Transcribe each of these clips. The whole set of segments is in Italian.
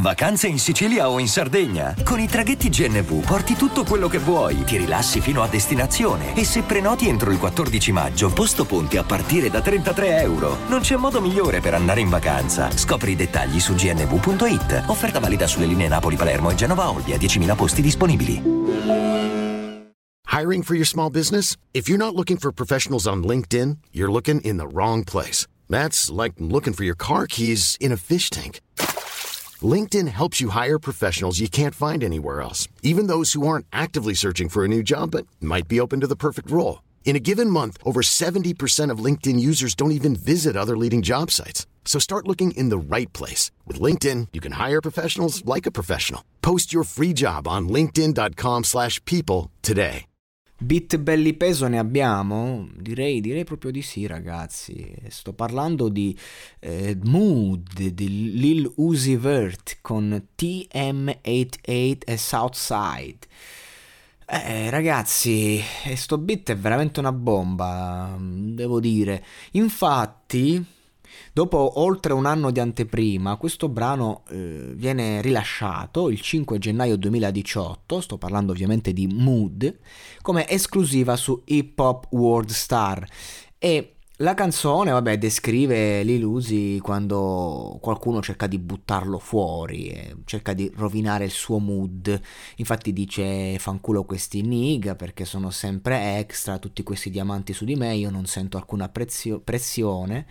Vacanze in Sicilia o in Sardegna? Con i traghetti GNV porti tutto quello che vuoi, ti rilassi fino a destinazione e se prenoti entro il 14 maggio, posto ponti a partire da €33. Non c'è modo migliore per andare in vacanza. Scopri i dettagli su gnv.it. Offerta valida sulle linee Napoli-Palermo e Genova-Olbia, 10.000 posti disponibili. Hiring for your small business? If you're not looking for professionals on LinkedIn, you're looking in the wrong place. That's like looking for your car keys in a fish tank. LinkedIn helps you hire professionals you can't find anywhere else, even those who aren't actively searching for a new job but might be open to the perfect role. In a given month, over 70% of LinkedIn users don't even visit other leading job sites. So start looking in the right place. With LinkedIn, you can hire professionals like a professional. Post your free job on linkedin.com/people today. Beat belli peso ne abbiamo? Direi proprio di sì, ragazzi. Sto parlando di Mood di Lil Uzi Vert con TM88 e Southside. Ragazzi, sto beat è veramente una bomba, devo dire. Infatti, dopo oltre un anno di anteprima, questo brano viene rilasciato il 5 gennaio 2018, sto parlando ovviamente di Mood, come esclusiva su Hip Hop World Star. E la canzone, vabbè, descrive Lil Uzi quando qualcuno cerca di buttarlo fuori, cerca di rovinare il suo mood. Infatti dice: fanculo questi nigga perché sono sempre extra, tutti questi diamanti su di me, io non sento alcuna pressione.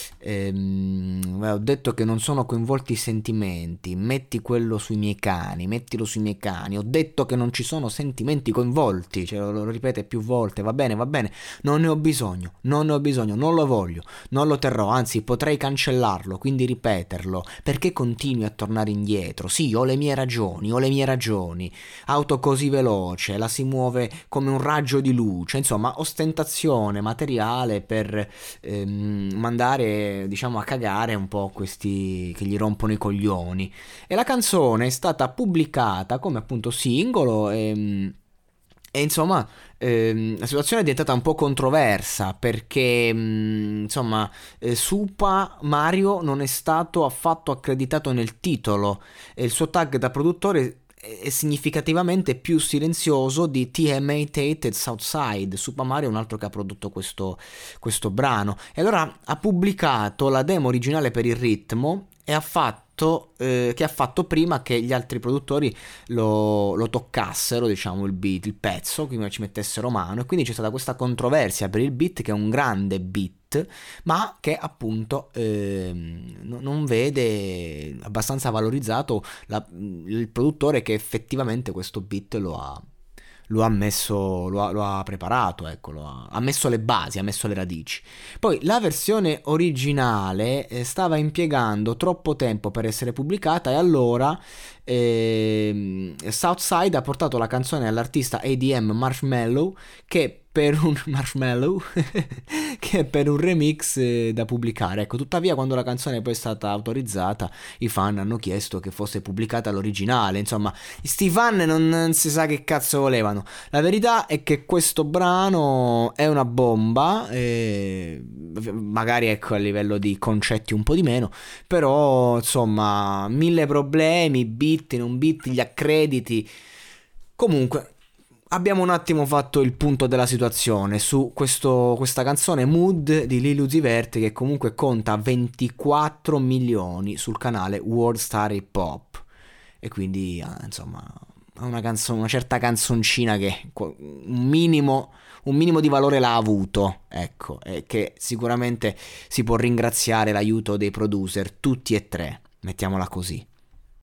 Ho detto che non sono coinvolti i sentimenti, mettilo sui miei cani. Ho detto che non ci sono sentimenti coinvolti, cioè, lo ripete più volte. Va bene, non ne ho bisogno, non lo voglio, non lo terrò, anzi potrei cancellarlo, quindi ripeterlo, perché continui a tornare indietro? Sì, ho le mie ragioni, auto così veloce, la si muove come un raggio di luce, insomma ostentazione materiale per mandare, diciamo, a cagare un po' questi che gli rompono i coglioni. E la canzone è stata pubblicata come appunto singolo e insomma la situazione è diventata un po' controversa perché Supa Mario non è stato affatto accreditato nel titolo e il suo tag da produttore è significativamente più silenzioso di TM88 e Southside. Super Mario è un altro che ha prodotto questo brano e allora ha pubblicato la demo originale per il ritmo e che ha fatto prima che gli altri produttori lo toccassero, diciamo, il beat, il pezzo, quindi ci mettessero mano, e quindi c'è stata questa controversia per il beat, che è un grande beat, ma che appunto non vede abbastanza valorizzato il produttore che effettivamente questo beat lo ha preparato, ecco, ha messo le basi, ha messo le radici. Poi la versione originale stava impiegando troppo tempo per essere pubblicata e allora Southside ha portato la canzone all'artista ADM Marshmello che per un remix da pubblicare. Ecco, tuttavia quando la canzone poi è stata autorizzata i fan hanno chiesto che fosse pubblicata l'originale. Insomma, sti fan non si sa che cazzo volevano. La verità è che questo brano è una bomba, magari ecco a livello di concetti un po' di meno, però insomma 1000 problemi, bit, non bit, gli accrediti. Comunque abbiamo un attimo fatto il punto della situazione su questa canzone Mood di Lil Uzi Vert, che comunque conta 24 milioni sul canale World Star Hip Hop, e quindi insomma è una certa canzoncina che un minimo di valore l'ha avuto, ecco, e che sicuramente si può ringraziare l'aiuto dei producer, tutti e tre, mettiamola così.